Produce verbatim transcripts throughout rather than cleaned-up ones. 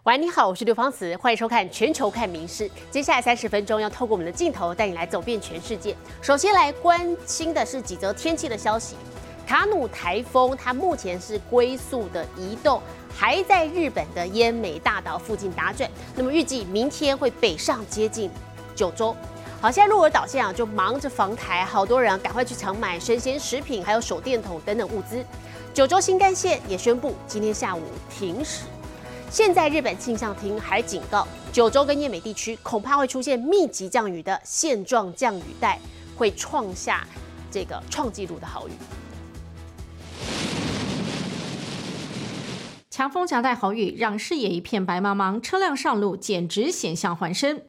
喂，你好，我是刘芳慈，欢迎收看《全球看名事》。接下来三十分钟要透过我们的镜头带你来走遍全世界。首先来关心的是几则天气的消息。卡努台风它目前是龟速的移动，还在日本的奄美大岛附近打转。那么预计明天会北上接近九州。好，现在鹿儿岛县啊就忙着防台，好多人啊赶快去抢买生鲜食品，还有手电筒等等物资。九州新干线也宣布今天下午停驶。现在日本气象厅还警告，九州跟奄美地区恐怕会出现密集降雨的线状降雨带，会创下这个创纪录的豪雨。 强风夹带豪雨，让视野一片白茫茫，车辆上路简直险象环生。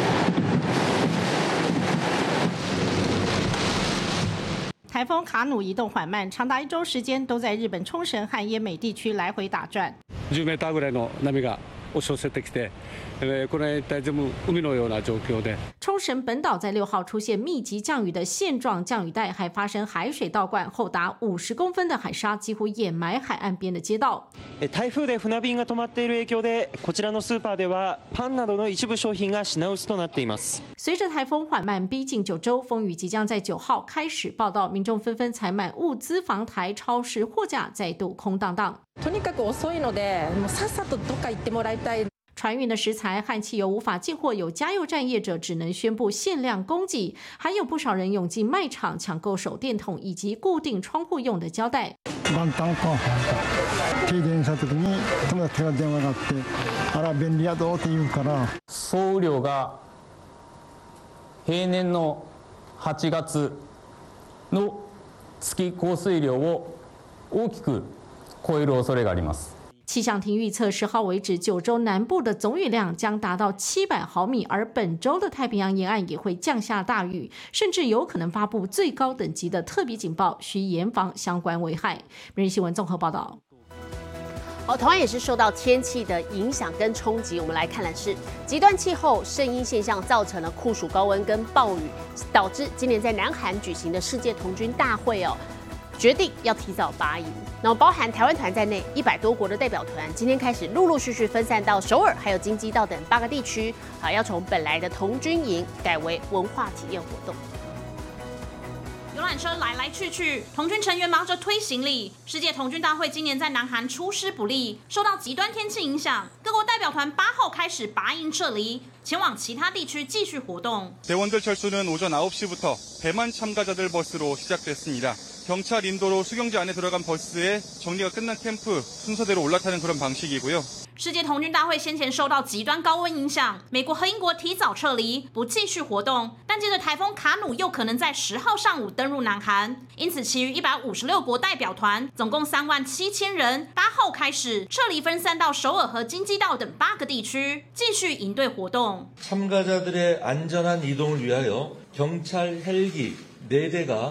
台风卡努移動緩慢，長達一周時間都在日本沖繩和奄美地區來回打轉。 じゅうメーターぐらいの波が押し寄せてきて、これ大体海のような状況で。 冲绳本岛在六号出現密集降雨的線狀降雨帶，還發生海水倒灌，厚達五十公分的海沙幾乎掩埋海岸邊的街道。 台風で船便が止まっている影響で、こちらのスーパーではパンなどの一部商品が品薄となっています。 隨着台風緩慢逼近九州，風雨即將在九號開始報道，民眾紛紛採買物資防台，超市貨架再度空蕩蕩。 とにかく遅いので、もうさっさとどっか行ってもらいたい。 船运的食材和汽油无法进货，有加油站业者只能宣布限量供给，还有不少人涌进卖场抢购手電筒以及固定窗户用的膠帶。 元旦と停電した時に友達から電話があって、あら便利やぞって言うから。 総雨量が平年のはちがつの月降水量を大きく超える恐れがあります。 气象厅预测，十号为止，九州南部的总雨量将达到七百毫米，而本周的太平洋沿岸也会降下大雨，甚至有可能发布最高等级的特别警报，需严防相关危害。每日新闻综合报道。 好，同样也是受到天气的影响跟冲击，我们来看的是极端气候圣婴现象造成了酷暑高温跟暴雨，导致今年在南韩举行的世界童军大会哦。决定要提早拔营，那么包含台湾团在内，一百多国的代表团今天开始陆陆续续分散到首尔还有京畿道等八个地区，好，要从本来的童军营改为文化体验活动。 游览车来来去去，童军成员忙着推行李。世界童军大会今年在南韩出师不利，受到极端天气影响，各国代表团八号开始拔营撤离，前往其他地区继续活动。 대원들 철수는 오전 아홉 시부터 대만 참가자들 버스로 시작됐습니다. 경찰 인도로 수경지 안에 들어간 버스에 정리가 끝난 캠프 순서대로 올라타는 그런 방식이고요. 世界童军大会先前受到极端高温影响，美国和英国提早撤离，不继续活动。但接着台风卡努又可能在十号上午登陆南韩，因此其余一百五十六国代表团总共三万七千人，八号开始撤离，分散到首尔和京畿道等八个地区，继续营队活动。 참가자들의 안전한 이동을 위하여 경찰 헬기 네 대가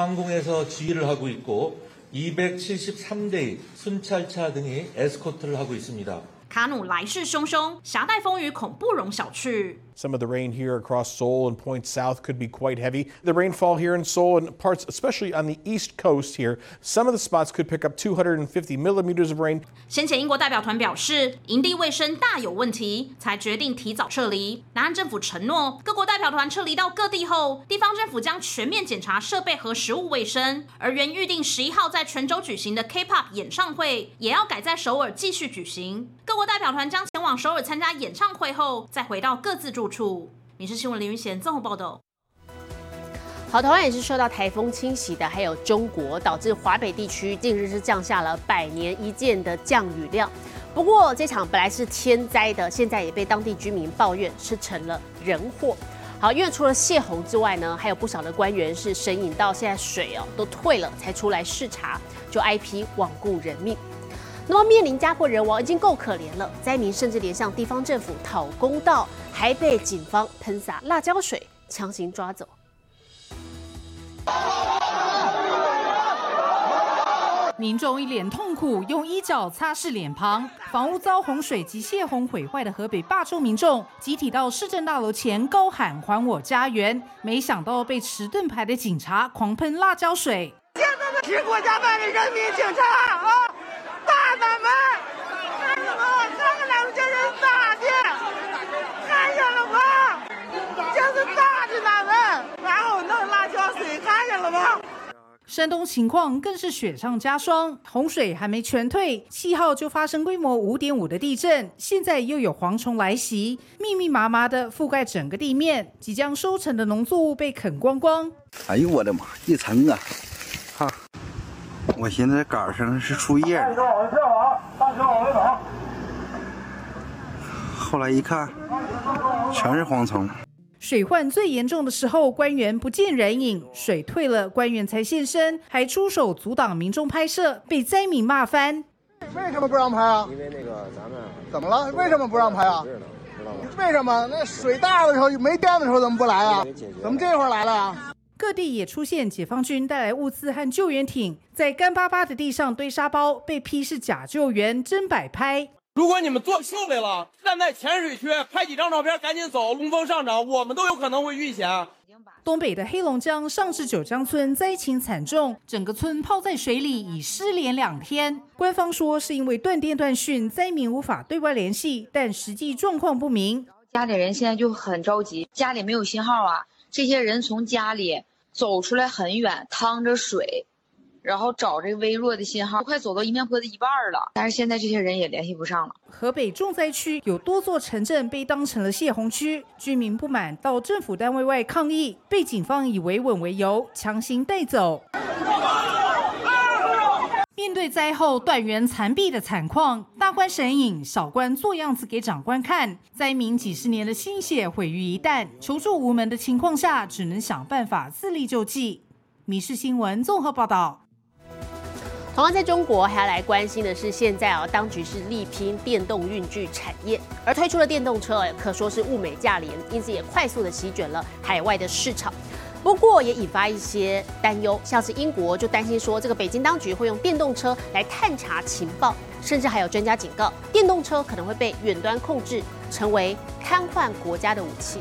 항공에서 지휘를 하고 있고 이백칠십삼 대의 순찰차 등이 에스코트를 하고 있습니다. 卡努来势汹汹，狭带风雨恐不容小觑。 Some of the rain here across Seoul and points south could be quite heavy. The rainfall here in Seoul and parts, especially on the east coast here, some of the spots could pick up two hundred fifty millimeters of rain. 先前英国代表团表示，营地卫生大有问题，才决定提早撤离。南韩政府承诺，各国代表团撤离到各地后，地方政府将全面检查设备和食物卫生。而原预定十一号在全州举行的 K-pop 演唱会，也要改在首尔继续举行。各国代表团将前往首尔参加演唱会后，再回到各自住处。民事新闻林云贤综合报道。 好，台湾也是受到台风侵袭的，还有中国，导致华北地区近日是降下了百年一见的降雨量。不过这场本来是天灾的，现在也被当地居民抱怨是成了人祸。好，因为除了泄洪之外呢，还有不少的官员是神隐到现在水哦都退了才出来视察，就挨批罔顾人命。那么面临家破人亡已经够可怜了，灾民甚至连向地方政府讨公道，还被警方喷洒辣椒水强行抓走。 民众一脸痛苦，用衣角擦拭脸庞。房屋遭洪水及泄洪毁坏的河北霸州民众集体到市政大楼前高喊“还我家园”，没想到被持盾牌的警察狂喷辣椒水。 现在的是国家派的人民警察啊！大胆们，看什么？看看咱们这人山东情况更是雪上加霜，洪水还没全退，七号就发生规模五点五的地震，现在又有蝗虫来袭，密密麻麻的覆盖整个地面，即将收成的农作物被啃光光。 哎呦我的妈，一层啊！哈，我现在杆上是树叶的。往下往，大车往回走。后来一看，全是蝗虫。 水患最严重的时候，官员不见人影，水退了，官员才现身，还出手阻挡民众拍摄，被灾民骂翻。 为什么不让拍啊？ 因为那个咱们怎么了？为什么不让拍啊？为什么？那水大的时候没电的时候怎么不来啊？怎么这会儿来了啊？ 各地也出现解放军带来物资和救援艇，在干巴巴的地上堆沙包，被批是假救援，真摆拍。 如果你们做秀来了，站在浅水区拍几张照片，赶紧走，龙峰上涨，我们都有可能会遇险。 东北的黑龙江上至九江村灾情惨重，整个村泡在水里，已失联两天。官方说是因为断电断讯，灾民无法对外联系，但实际状况不明。 家里人现在就很着急，家里没有信号啊，这些人从家里走出来很远，趟着水。然后找这个微弱的信号，快走到一面坡的一半了，但是现在这些人也联系不上了。 河北重灾区有多座城镇被当成了泄洪区，居民不满到政府单位外抗议，被警方以维稳为由强行带走。面对灾后断垣残壁的惨况，大官神隐，小官做样子给长官看，灾民几十年的心血毁于一旦，求助无门的情况下，只能想办法自力救济。民视新闻综合报道。 同样在中国，还要来关心的是，现在啊，当局是力拼电动运具产业，而推出的电动车可说是物美价廉，因此也快速的席卷了海外的市场。不过也引发一些担忧，像是英国就担心说，这个北京当局会用电动车来探查情报，甚至还有专家警告，电动车可能会被远端控制，成为瘫痪国家的武器。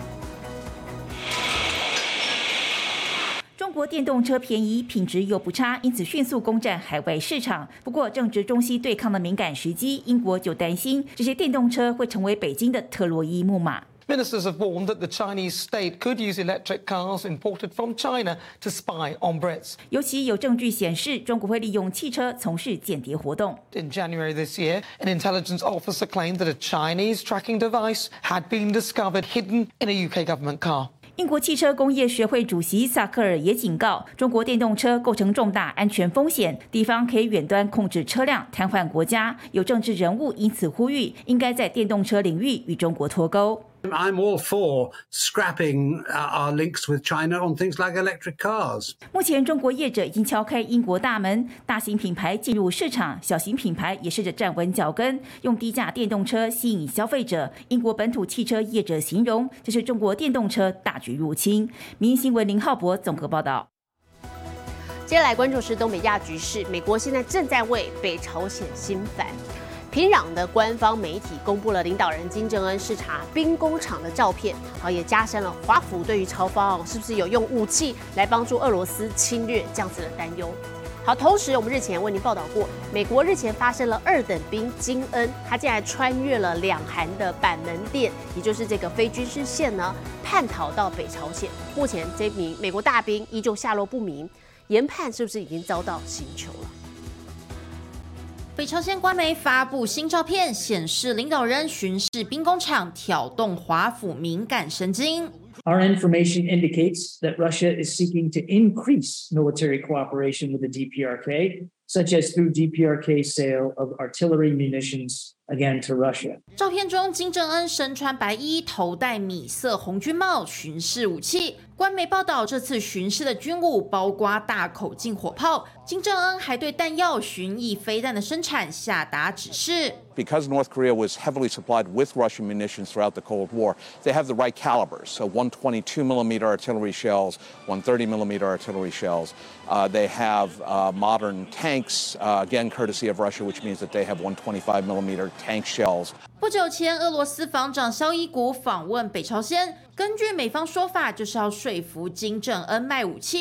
中国电动车便宜，品质又不差，因此迅速攻占海外市场。不过，正值中西对抗的敏感时机，英国就担心这些电动车会成为北京的特洛伊木马。 Ministers have warned that the Chinese state could use electric cars imported from China to spy on Brits. 尤其有证据显示，中国会利用汽车从事间谍活动。 In January this year, an intelligence officer claimed that a Chinese tracking device had been discovered hidden in a U K government car. 英国汽车工业学会主席萨克尔也警告，中国电动车构成重大安全风险，地方可以远端控制车辆，瘫痪国家。有政治人物因此呼吁，应该在电动车领域与中国脱钩。 I'm all for scrapping our links with China on things like electric cars. 目前，中国业者已经敲开英国大门，大型品牌进入市场，小型品牌也试着站稳脚跟，用低价电动车吸引消费者。英国本土汽车业者形容，这是中国电动车大举入侵。民营新闻林浩博综合报道。 接下来关注是东北亚局势，美国现在正在为北朝鲜心烦。平壤的官方媒体公布了领导人金正恩视察兵工厂的照片，好也加深了华府对于朝方是不是有用武器来帮助俄罗斯侵略这样子的担忧。好，同时我们日前为您报道过，美国日前发生了二等兵金恩，他竟然穿越了两韩的板门店，也就是这个非军事线呢，叛逃到北朝鲜。目前这名美国大兵依旧下落不明，研判是不是已经遭到刑求了？ 北朝鲜官媒发布新照片，显示领导人巡视兵工厂，挑动华府敏感神经。 Our information indicates that Russia is seeking to increase military cooperation with the D P R K, such as through D P R K sale of artillery munitions again to Russia. 照片中，金正恩身穿白衣，头戴米色红军帽，巡视武器。官媒报道，这次巡视的军务包括大口径火炮。金正恩还对弹药、巡弋飞弹的生产下达指示。 Because North Korea was heavily supplied with Russian munitions throughout the Cold War, they have the right calibers. So one twenty-two millimeter artillery shells, one thirty millimeter artillery shells. Uh, they have uh, modern tanks, uh, again courtesy of Russia, which means that they have one twenty-five millimeter tank shells. 不久前，俄罗斯防长肖伊古访问北朝鲜，根据美方说法，就是要说服金正恩卖武器。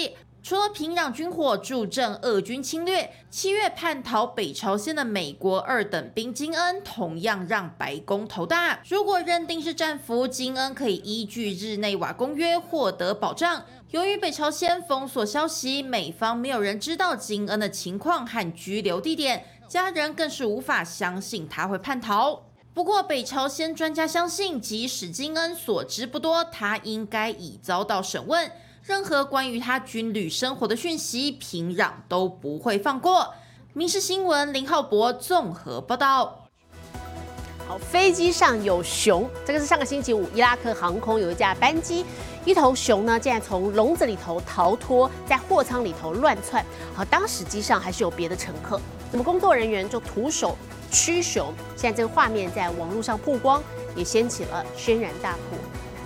除了平壤军火助阵俄军侵略，七月叛逃北朝鲜的美国二等兵金恩同样让白宫头大。如果认定是战俘，金恩可以依据日内瓦公约获得保障。由于北朝鲜封锁消息，美方没有人知道金恩的情况和居留地点，家人更是无法相信他会叛逃。不过，北朝鲜专家相信，即使金恩所知不多，他应该已遭到审问。任何关于他军旅生活的讯息，平壤都不会放过。民视新闻林浩博综合报道。 好，飞机上有熊，这个是上个星期五伊拉克航空有一架班机，一头熊呢竟然从笼子里头逃脱，在货舱里头乱窜。好，当时机上还是有别的乘客，那么工作人员就徒手驱熊。现在这个画面在网络上曝光，也掀起了轩然大波。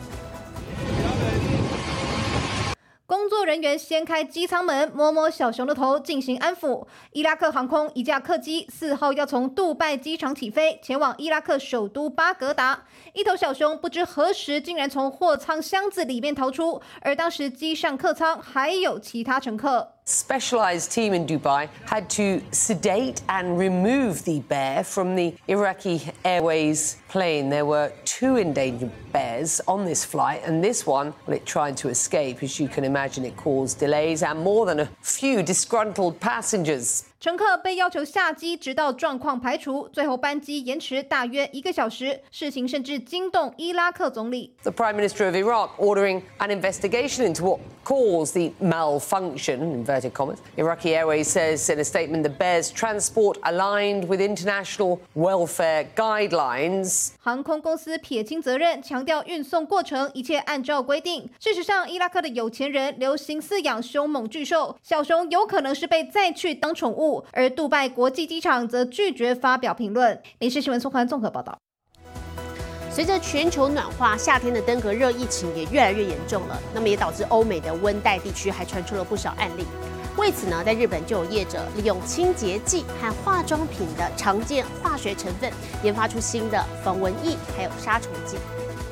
工作人员掀开机舱门，摸摸小熊的头进行安抚。伊拉克航空一架客机四号要从杜拜机场起飞，前往伊拉克首都巴格达。一头小熊不知何时竟然从货舱箱子里面逃出，而当时机上客舱还有其他乘客。 Specialized team in Dubai had to sedate and remove the bear from the Iraqi Airways plane. There were two endangered bears on this flight, and this one, well, it tried to escape. As you can imagine, it caused delays and more than a few disgruntled passengers. 乘客被要求下机，直到状况排除，最后班机延迟大约一个小时。事情甚至惊动伊拉克总理。 The Prime Minister of Iraq ordering an investigation into what caused the malfunction, in inverted commas. Iraqi Airways says in a statement the bear's transport aligned with international welfare guidelines. 航空公司撇清责任，强调运送过程一切按照规定。事实上，伊拉克的有钱人流行饲养凶猛巨兽，小熊有可能是被载去当宠物。而杜拜国际机场则拒绝发表评论。民视新闻宋涵综合报道。 随着全球暖化，夏天的登革热疫情也越来越严重了，那么也导致欧美的温带地区还传出了不少案例。为此呢，在日本就有业者利用清洁剂和化妆品的常见化学成分，研发出新的防蚊液还有杀虫剂。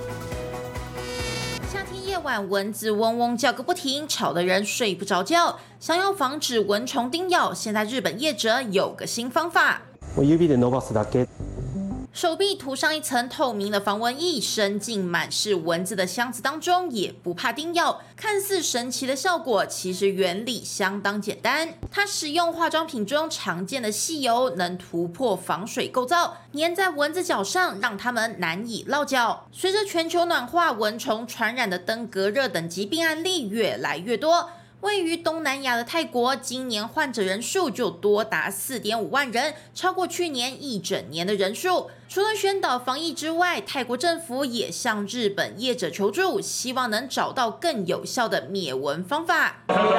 夏天夜晚蚊子嗡嗡叫个不停，吵得人睡不着觉。想要防止蚊虫叮咬，现在日本业者有个新方法。手臂涂上一层透明的防蚊液，伸进满是蚊子的箱子当中，也不怕叮咬。看似神奇的效果，其实原理相当简单。它使用化妆品中常见的细油，能突破防水构造，粘在蚊子脚上，让它们难以落脚。随着全球暖化，蚊虫传染的登革热等疾病案例越来越多。位于东南亚的泰国，今年患者人数就多达 四点五万人，超过去年一整年的人数。除了宣导防疫之外，泰国政府也向日本业者求助，希望能找到更有效的灭蚊方法。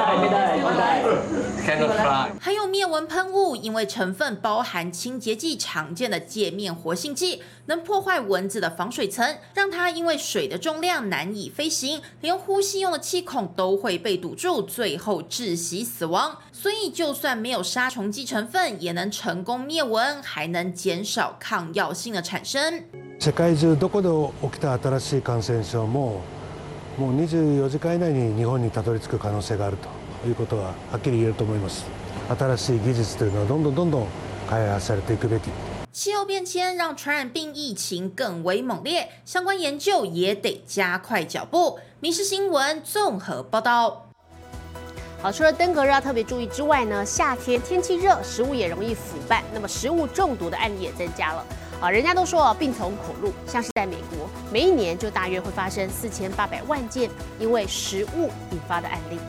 还有灭蚊喷雾，因为成分包含清洁剂常见的界面活性剂，能破坏蚊子的防水层，让它因为水的重量难以飞行，连呼吸用的气孔都会被堵住，最后窒息死亡。所以就算没有杀虫剂成分，也能成功灭蚊，还能减少抗药性的产生。 世界中どこで起きた新しい感染症ももうにじゅうよじかん以内に日本にたどり着く可能性があるということははっきり言えると思います。新しい技術というのはどんどんどんどん開発されていくべき。 气候变迁让传染病疫情更为猛烈，相关研究也得加快脚步。民视新闻综合报道。 好，除了登革热要特别注意之外呢，夏天天气热，食物也容易腐败，那么食物中毒的案例也增加了。啊，人家都说病从口入，像是在美国，每一年就大约会发生四千八百万件因为食物引发的案例。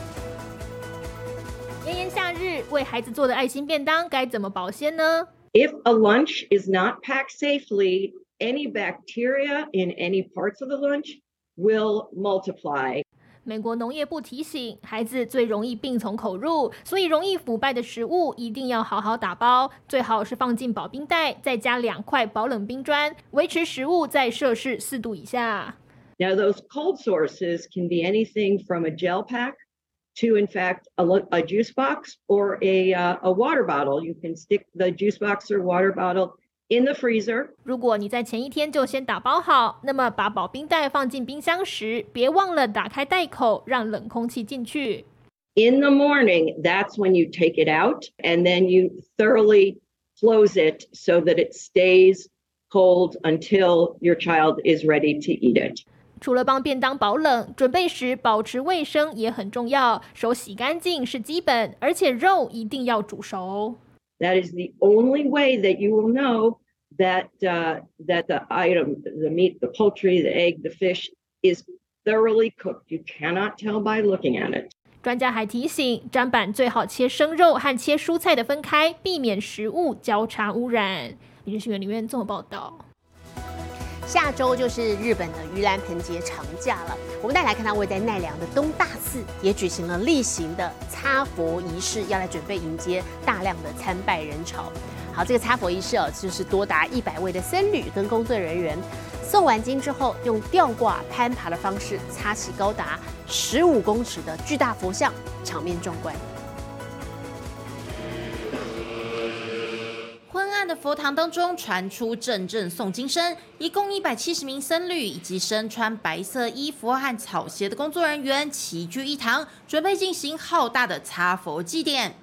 炎炎夏日，为孩子做的爱心便当该怎么保鲜呢？ If a lunch is not packed safely, any bacteria in any parts of the lunch will multiply. 美国农业部提醒，孩子最容易病从口入，所以容易腐败的食物一定要好好打包，最好是放进保冰袋，再加两块保冷冰砖，维持食物在摄氏四度以下。 Now, those cold sources can be anything from a gel pack to, in fact, a, a juice box or a, uh, a water bottle. You can stick the juice box or water bottle in the freezer. 如果你在前一天就先打包好，那么把保冰袋放进冰箱时，别忘了打开袋口，让冷空气进去。 In the morning, that's when you take it out and then you thoroughly close it so that it stays cold until your child is ready to eat it. 除了帮便当保冷，准备时保持卫生也很重要。手洗干净是基本，而且肉一定要煮熟。 That is the only way that you will know that uh, that the item, the meat, the poultry, the egg, the fish is thoroughly cooked. You cannot tell by looking at it. 专家还提醒，砧板最好切生肉和切蔬菜的分开，避免食物交叉污染。民事新闻里面综合报道。 下周就是日本的盂兰盆节长假了，我们再来看到位在奈良的东大寺也举行了例行的擦佛仪式，要来准备迎接大量的参拜人潮。好，这个擦佛仪式哦，就是多达一百位的僧侣跟工作人员诵完经之后，用吊挂攀爬的方式擦起高达十五公尺的巨大佛像，场面壮观。 昏暗的佛堂当中传出阵阵诵经声，一共一百七十名僧侣以及身穿白色衣服和草鞋的工作人员齐聚一堂，准备进行浩大的擦佛祭典。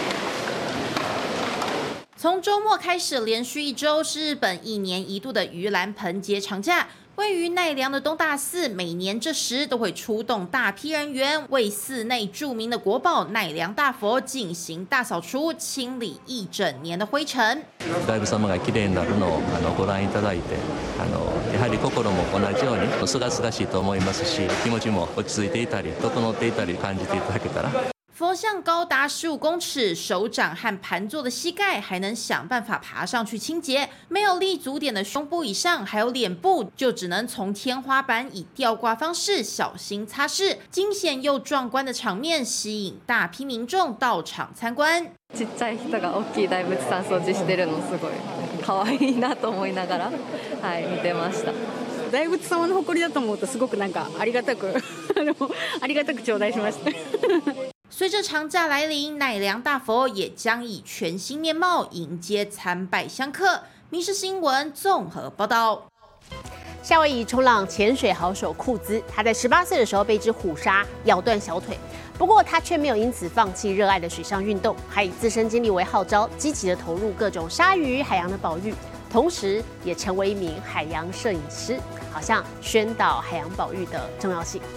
从周末开始，连续一周是日本一年一度的盂兰盆节长假。位于奈良的东大寺，每年这时都会出动大批人员，为寺内著名的国宝奈良大佛进行大扫除，清理一整年的灰尘。 外部様が綺麗になるのをあのご覧いただいて、あのやはり心も同じように清々しいと思いますし、気持ちも落ち着いていたり、整っていたり感じていただけたら。 佛像高达十五公尺，手掌和盘坐的膝盖还能想办法爬上去清洁。没有立足点的胸部以上，还有脸部，就只能从天花板以吊挂方式小心擦拭。惊险又壮观的场面吸引大批民众到场参观。 ちっちゃい人が大きい大仏さん掃除してるのすごい可愛いなと思いながら、はい見てました。大仏様の誇りだと思うとすごくなんかありがたくありがたく頂戴しました。 随着长假来临，奈良大佛也将以全新面貌迎接参拜香客。民视新闻综合报道。 夏威夷冲浪潜水好手库兹，他在十八岁的时候被一只虎鲨咬断小腿，不过他却没有因此放弃热爱的水上运动，还以自身经历为号召，积极的投入各种鲨鱼、海洋的保育，同时也成为一名海洋摄影师，好像宣导海洋保育的重要性。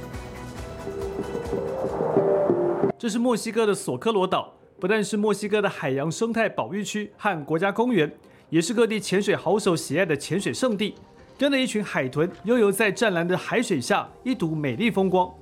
这是墨西哥的索科罗岛，不但是墨西哥的海洋生态保育区和国家公园，也是各地潜水好手喜爱的潜水圣地。跟着一群海豚悠游在湛蓝的海水下，一睹美丽风光。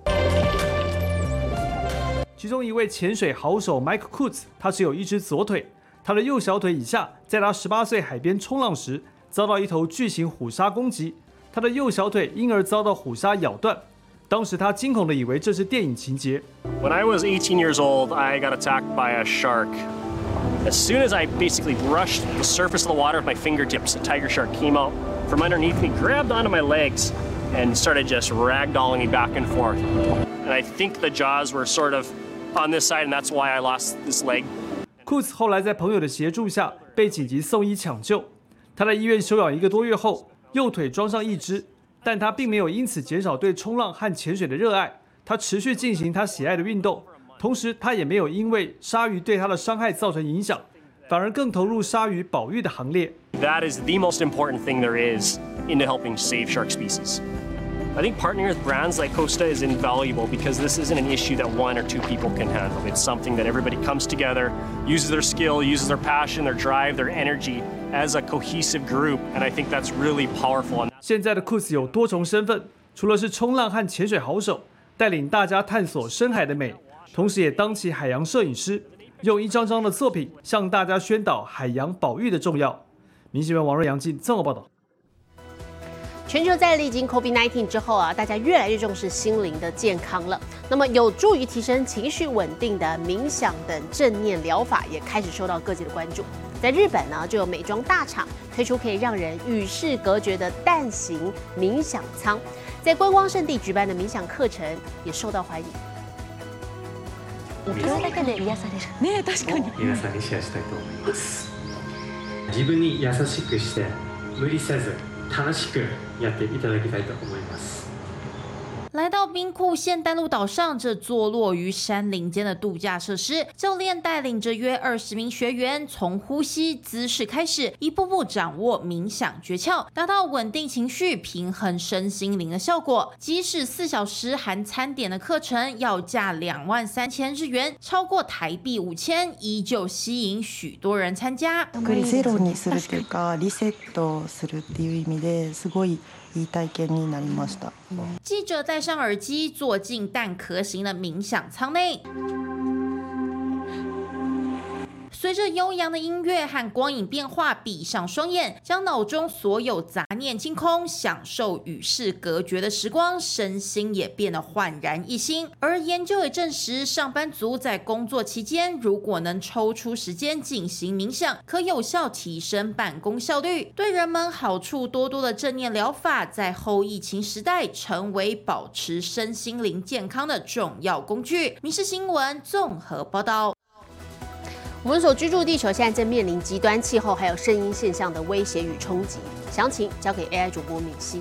其中一位潜水好手 Mike Kutz， 他只有一只左腿，他的右小腿以下，在他十八岁海边冲浪时，遭到一头巨型虎鲨攻击，他的右小腿因而遭到虎鲨咬断。当时他惊恐地以为这是电影情节。 When I was eighteen years old, I got attacked by a shark. As soon as I basically brushed the surface of the water with my fingertips, a tiger shark came out from underneath me, grabbed onto my legs, and started just ragdolling me back and forth. And I think the jaws were sort of on this side, and that's why I lost this leg. 库兹后来在朋友的协助下被紧急送医抢救。他在医院休养一个多月后，右腿装上义肢。但他并没有因此减少对冲浪和潜水的热爱，他持续进行他喜爱的运动，同时他也没有因为鲨鱼对他的伤害造成影响，反而更投入鲨鱼保育的行列。 That is the most important thing there is into helping save shark species. I think partnering with brands like Costa is invaluable because this isn't an issue that one or two people can handle. It's something that everybody comes together, uses their skill, uses their passion, their drive, their energy as a cohesive group, and I think that's really powerful. 现在的库斯有多重身份，除了是冲浪和潜水好手，带领大家探索深海的美，同时也当起海洋摄影师，用一张张的作品向大家宣导海洋保育的重要。民新闻王瑞阳进综合报道。 全球在历经 COVID 十九 之后啊，大家越来越重视心灵的健康了。那么，有助于提升情绪稳定的冥想等正念疗法也开始受到各界的关注。在日本呢，就有美妆大厂推出可以让人与世隔绝的蛋形冥想舱，在观光胜地举办的冥想课程也受到欢迎。 これだけで癒される。ね、確かに。皆さんにシェアしたいと思います。自分に優しくして無理せず楽しくやっていただきたいと思います。 来到兵库县丹路岛上，这坐落于山林间的度假设施，教练带领着约二十名学员，从呼吸姿势开始，一步步掌握冥想诀窍，达到稳定情绪、平衡身心灵的效果。即使四小时含餐点的课程要价两万三千日元，超过台币五千，依旧吸引许多人参加。 ゼロにするというか、リセットするっていう意味ですごいいい体験になりました。 记者戴上耳机，坐进蛋壳型的冥想舱内。随着悠扬的音乐和光影变化，闭上双眼，将脑中所有杂念清空，享受与世隔绝的时光，身心也变得焕然一新。而研究也证实，上班族在工作期间，如果能抽出时间进行冥想，可有效提升办公效率，对人们好处多多的正念疗法，在后疫情时代成为保持身心灵健康的重要工具。民视新闻综合报道。 我们所居住的地球现在正面临极端气候还有声音现象的威胁与冲击，详情交给 A I 主播敏熙。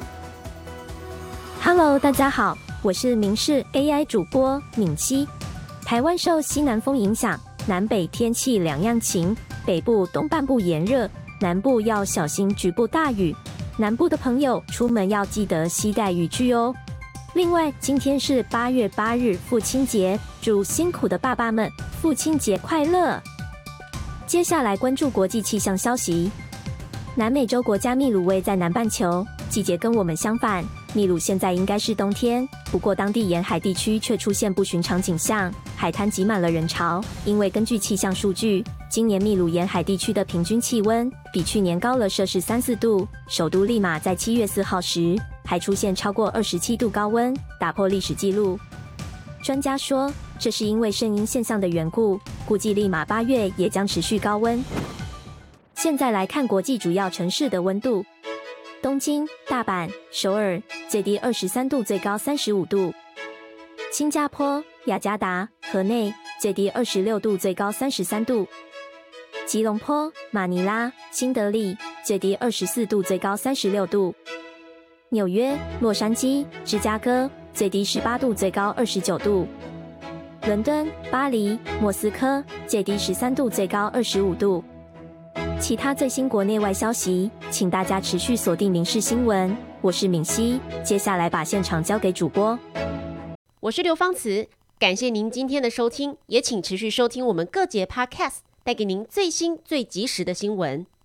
Hello， 大家好，我是民视 A I 主播敏熙。台湾受西南风影响，南北天气两样晴，北部东半部炎热，南部要小心局部大雨。南部的朋友出门要记得携带雨具哦。另外，今天是八月八日父亲节，祝辛苦的爸爸们父亲节快乐。接下来关注国际气象消息。南美洲国家秘鲁位在南半球，季节跟我们相反。秘鲁现在应该是冬天，不过当地沿海地区却出现不寻常景象，海滩挤满了人潮。因为根据气象数据，今年秘鲁沿海地区的平均气温比去年高了摄氏三四度。首都利马在七月四号时还出现超过二十七度高温，打破历史纪录。专家说，这是因为圣婴现象的缘故，估计利马八月也将持续高温。现在来看国际主要城市的温度：东京、大阪、首尔最低二十三度，最高三十五度；新加坡、雅加达、河内最低二十六度，最高三十三度；吉隆坡、马尼拉、新德里最低二十四度，最高三十六度；纽约、洛杉矶、芝加哥最低十八度，最高二十九度；伦敦、巴黎、莫斯科最低十三度，最高二十五度。其他最新国内外消息，请大家持续锁定民视新闻。我是敏熙，接下来把现场交给主播。 我是刘芳慈，感谢您今天的收听，也请持续收听我们各节 Podcast， 带给您最新最及时的新闻。